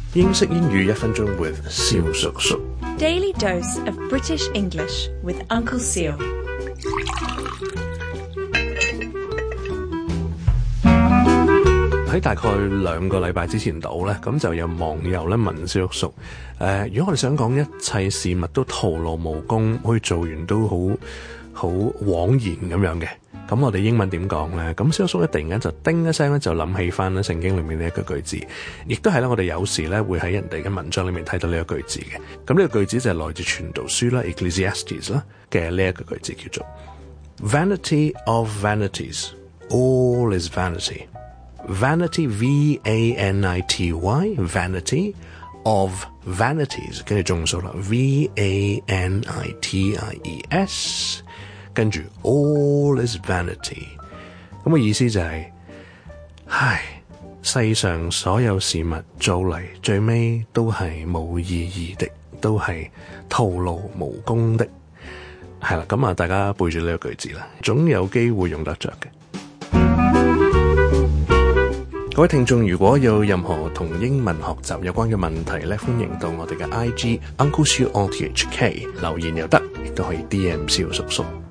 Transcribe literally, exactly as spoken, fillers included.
英式英語一分鐘 with 蕭叔叔。 Daily dose of British English with Uncle Seal. 喺大概兩個禮拜之前度咧，咁就有網友咧問蕭叔叔，誒，如果我哋想講一切事物都徒勞無功，可以做完都好好枉然咁樣嘅，咁我哋英文點講咧？咁蕭叔咧突然間就叮一聲咧，就諗起翻咧聖經裏面呢一個句子，亦都係咧我哋有時咧會喺人哋嘅文章裏面睇到呢一個句子嘅。咁呢個句子就係來自傳道書啦 Ecclesiastes 啦嘅呢一個句子，叫做 Vanity of vanities, all is vanity。Vanity, V A N I T Y, vanity of vanities， 跟住中數啦 ，V A N I T I E S， 跟住 all is vanity， 咁嘅意思就係、是，唉，世上所有事物做嚟最尾都係冇意義的，都係徒勞無功的，係啦，咁啊，大家背住呢個句子啦，總有機會用得着嘅。各位聽眾，如果有任何同英文學習有關嘅問題咧，歡迎到我哋嘅 I G Uncle Siu O T H K 留言又得，亦都可以 D M 蕭叔叔。